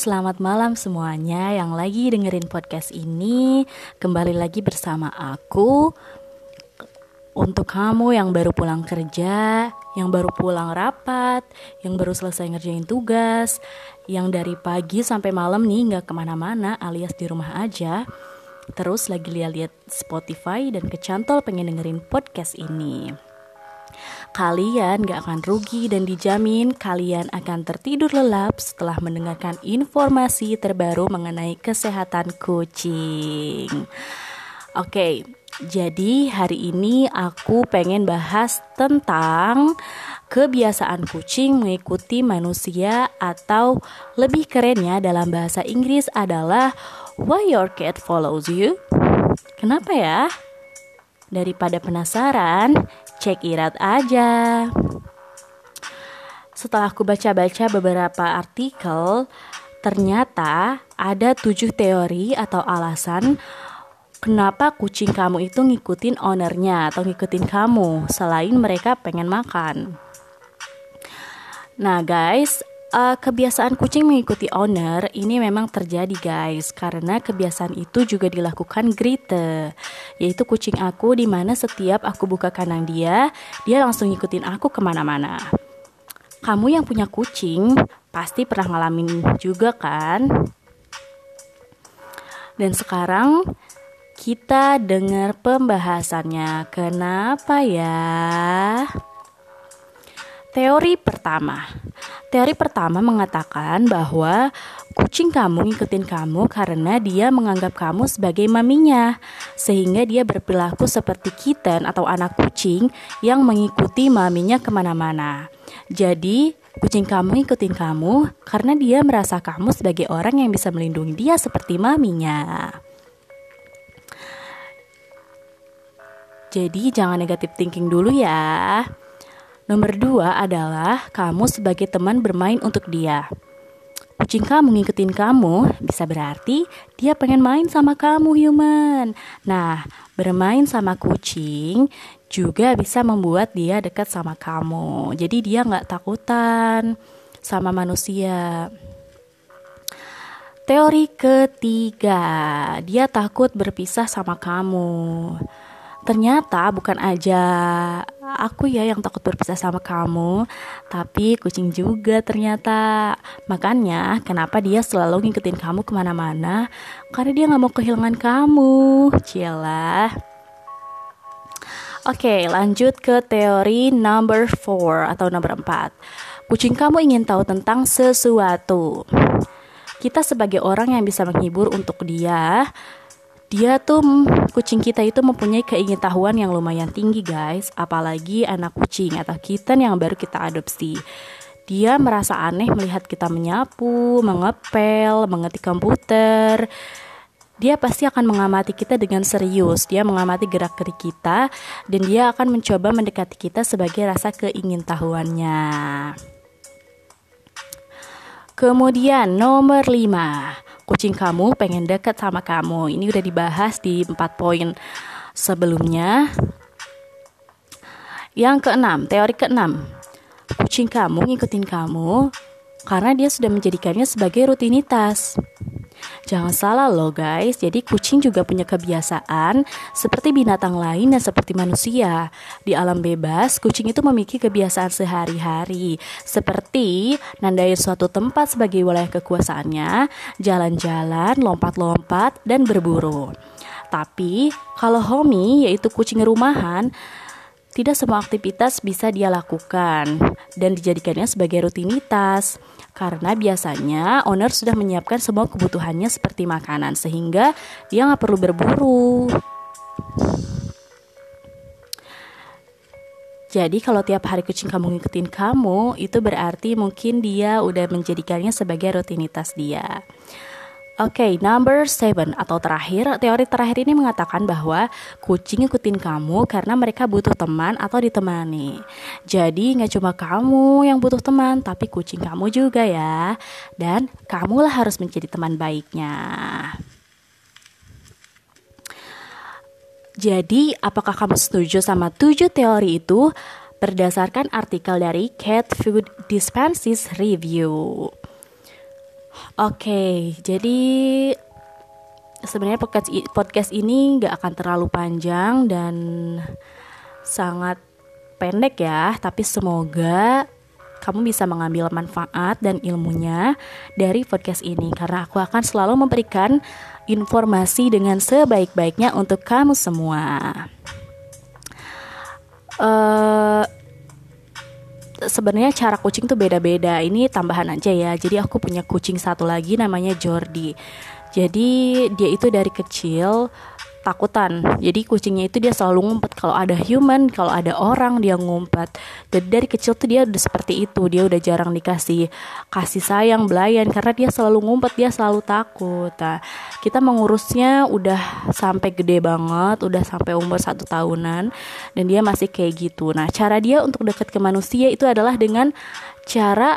selamat malam semuanya yang lagi dengerin podcast ini. Kembali lagi bersama aku. Untuk kamu yang baru pulang kerja, yang baru pulang rapat, yang baru selesai ngerjain tugas, yang dari pagi sampai malam nih gak kemana-mana alias di rumah aja, terus lagi lihat-lihat Spotify dan kecantol pengen dengerin podcast ini. Kalian gak akan rugi dan dijamin kalian akan tertidur lelap setelah mendengarkan informasi terbaru mengenai kesehatan kucing. Oke, jadi hari ini aku pengen bahas tentang kebiasaan kucing mengikuti manusia, atau lebih kerennya dalam bahasa Inggris adalah why your cat follows you. Kenapa ya? Daripada penasaran, check it out aja. Setelah aku baca-baca beberapa artikel, ternyata ada 7 teori atau alasan kenapa kucing kamu itu ngikutin ownernya atau ngikutin kamu selain mereka pengen makan. Nah guys, kebiasaan kucing mengikuti owner ini memang terjadi guys, karena kebiasaan itu juga dilakukan Grete, yaitu kucing aku, di mana setiap aku buka kandang dia langsung ngikutin aku kemana-mana. Kamu yang punya kucing pasti pernah ngalamin juga kan? Dan sekarang kita dengar pembahasannya. Kenapa ya? Teori pertama mengatakan bahwa kucing kamu ngikutin kamu karena dia menganggap kamu sebagai maminya, sehingga dia berperilaku seperti kitten atau anak kucing yang mengikuti maminya kemana-mana. Jadi kucing kamu ngikutin kamu karena dia merasa kamu sebagai orang yang bisa melindungi dia seperti maminya. Jadi jangan negatif thinking dulu ya. Nomor 2 adalah kamu sebagai teman bermain untuk dia. Kucing kamu ngikutin kamu bisa berarti dia pengen main sama kamu human. Nah, bermain sama kucing juga bisa membuat dia dekat sama kamu. Jadi dia gak takutan sama manusia. Teori ketiga, dia takut berpisah sama kamu. Ternyata bukan aja aku ya yang takut berpisah sama kamu, tapi kucing juga ternyata. Makanya kenapa dia selalu ngikutin kamu kemana-mana, karena dia gak mau kehilangan kamu. Cielah. Oke, lanjut ke teori number 4 atau nomor 4. Kucing kamu ingin tahu tentang sesuatu. Kita sebagai orang yang bisa menghibur untuk kucing kita itu mempunyai keingintahuan yang lumayan tinggi guys. Apalagi anak kucing atau kitten yang baru kita adopsi. Dia merasa aneh melihat kita menyapu, mengepel, mengetik komputer. Dia pasti akan mengamati kita dengan serius. Dia mengamati gerak-gerik kita, dan dia akan mencoba mendekati kita sebagai rasa keingintahuannya. Kemudian nomor 5, kucing kamu pengen dekat sama kamu. Ini udah dibahas di 4 poin sebelumnya. Yang keenam, teori keenam, kucing kamu ngikutin kamu karena dia sudah menjadikannya sebagai rutinitas. Jangan salah loh guys, jadi kucing juga punya kebiasaan seperti binatang lain dan seperti manusia. Di alam bebas, kucing itu memiliki kebiasaan sehari-hari, seperti nandain suatu tempat sebagai wilayah kekuasaannya, jalan-jalan, lompat-lompat, dan berburu. Tapi kalau Homie, yaitu kucing rumahan, tidak semua aktivitas bisa dia lakukan dan dijadikannya sebagai rutinitas. Karena biasanya owner sudah menyiapkan semua kebutuhannya seperti makanan, sehingga dia gak perlu berburu. Jadi kalau tiap hari kucing kamu ngikutin kamu, itu berarti mungkin dia udah menjadikannya sebagai rutinitas dia. Oke, number 7 atau terakhir, teori terakhir ini mengatakan bahwa kucing ngikutin kamu karena mereka butuh teman atau ditemani. Jadi gak cuma kamu yang butuh teman, tapi kucing kamu juga ya. Dan kamulah harus menjadi teman baiknya. Jadi apakah kamu setuju sama 7 teori itu? Berdasarkan artikel dari Cat Food Dispenses Review. Oke, jadi sebenarnya podcast ini gak akan terlalu panjang dan sangat pendek ya, tapi semoga kamu bisa mengambil manfaat dan ilmunya dari podcast ini, karena aku akan selalu memberikan informasi dengan sebaik-baiknya untuk kamu semua. Sebenarnya cara kucing tuh beda-beda. Ini tambahan aja ya. Jadi aku punya kucing satu lagi namanya Jordi. Jadi dia itu dari kecil takutan. Jadi kucingnya itu dia selalu ngumpet kalau ada human, kalau ada orang dia ngumpet. Jadi dari kecil tuh dia udah seperti itu. Dia udah jarang dikasih kasih sayang, belayan, karena dia selalu ngumpet, dia selalu takut. Nah, kita mengurusnya udah sampai gede banget, udah sampai umur 1 tahunan, dan dia masih kayak gitu. Nah, cara dia untuk dekat ke manusia itu adalah dengan cara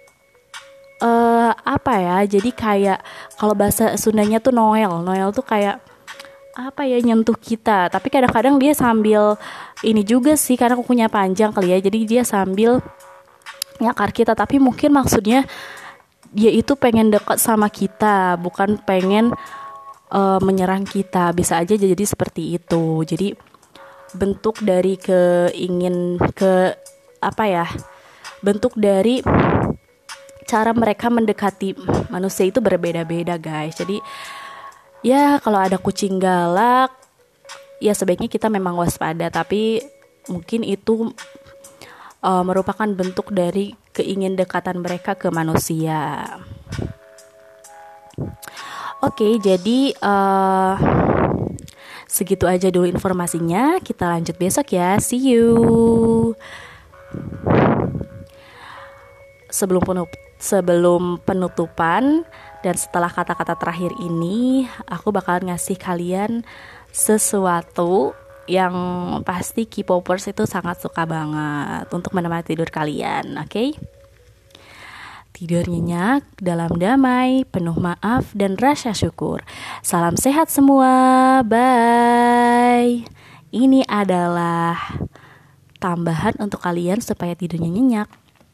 apa ya? Jadi kayak kalau bahasa Sundanya tuh Noel. Noel tuh kayak apa ya, nyentuh kita, tapi kadang-kadang dia sambil ini juga sih, karena kukunya panjang kali ya, jadi dia sambil nyakar kita, tapi mungkin maksudnya dia itu pengen dekat sama kita, bukan pengen menyerang kita. Bisa aja jadi seperti itu. Jadi bentuk dari bentuk dari cara mereka mendekati manusia itu berbeda-beda, guys. Jadi ya kalau ada kucing galak, ya sebaiknya kita memang waspada, tapi mungkin itu merupakan bentuk dari keingindekatan mereka ke manusia. Oke, jadi segitu aja dulu informasinya. Kita lanjut besok ya. See you. Sebelum penutupan dan setelah kata-kata terakhir ini, aku bakal ngasih kalian sesuatu yang pasti K-popers itu sangat suka banget untuk menemani tidur kalian, oke? Tidur nyenyak, dalam damai, penuh maaf dan rasa syukur. Salam sehat semua, bye. Ini adalah tambahan untuk kalian supaya tidurnya nyenyak.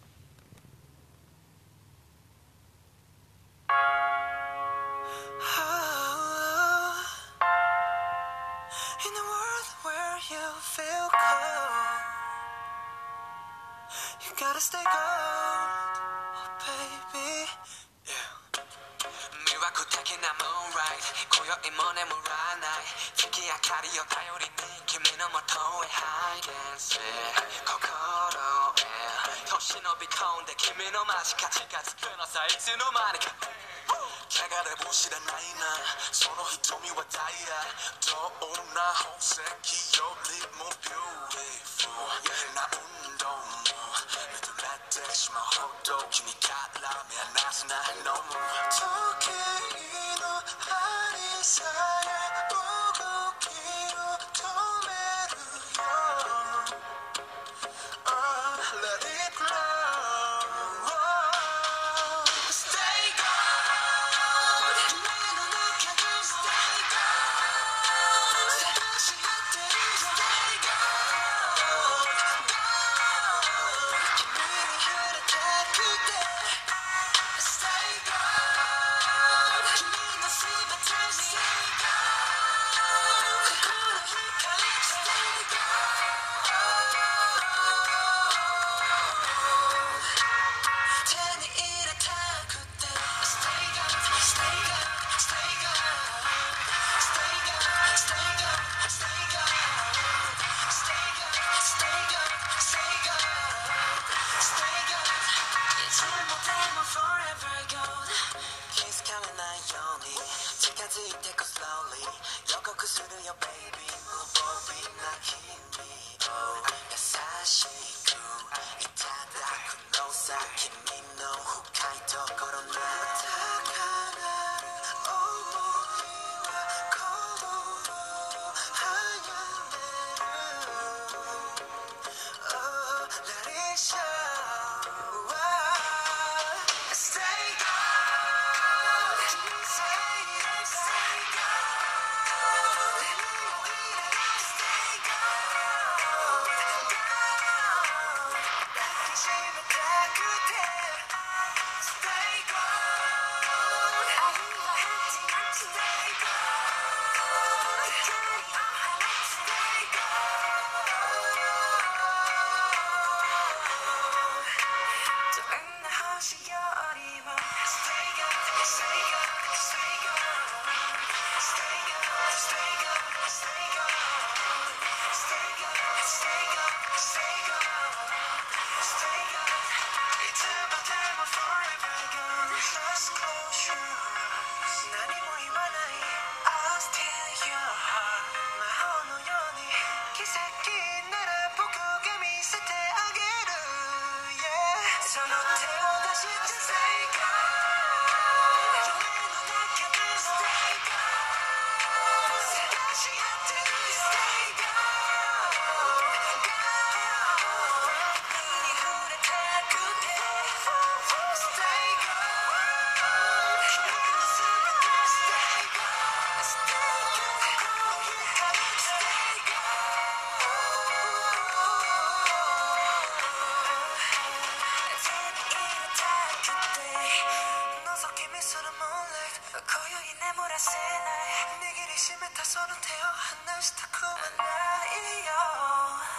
Gotta stay gold, oh baby. Yeah. 魅惑的なムーンライト今宵も眠らない月明かりを頼りに君のもとへハイデンス心へ年のび込んで君の間近近づくのさいつの間にか流れも知らないなその瞳はダイヤどんな宝石よりもビューティフルな運動も目となってしまうほど君から目離すなのも時計の針さえ動きを止めるよ Oh, let it glow Stay gold 夢の中で Stay gold 探し合ってる Stay gold Gold 君に触れたくて Stay gold 君のすべてに Stay gold 心光 Stay gold 手に入れたくて Stay gold Stay gold Stay gold Stay gold Stay gold Stay gold Stay gold Stay gold Stay gold Stay gold いつまでも forever gold 気づかれないように近づいてく slowly 予告するよ baby 無防備な君を優しくいただくのさ君の深いところに高鳴る想いは心を早める Oh, let it show Stay gold Stay gold Stay gold Stay gold Gold 抱きしめたくてせない握りしめたその手を離したくはないよ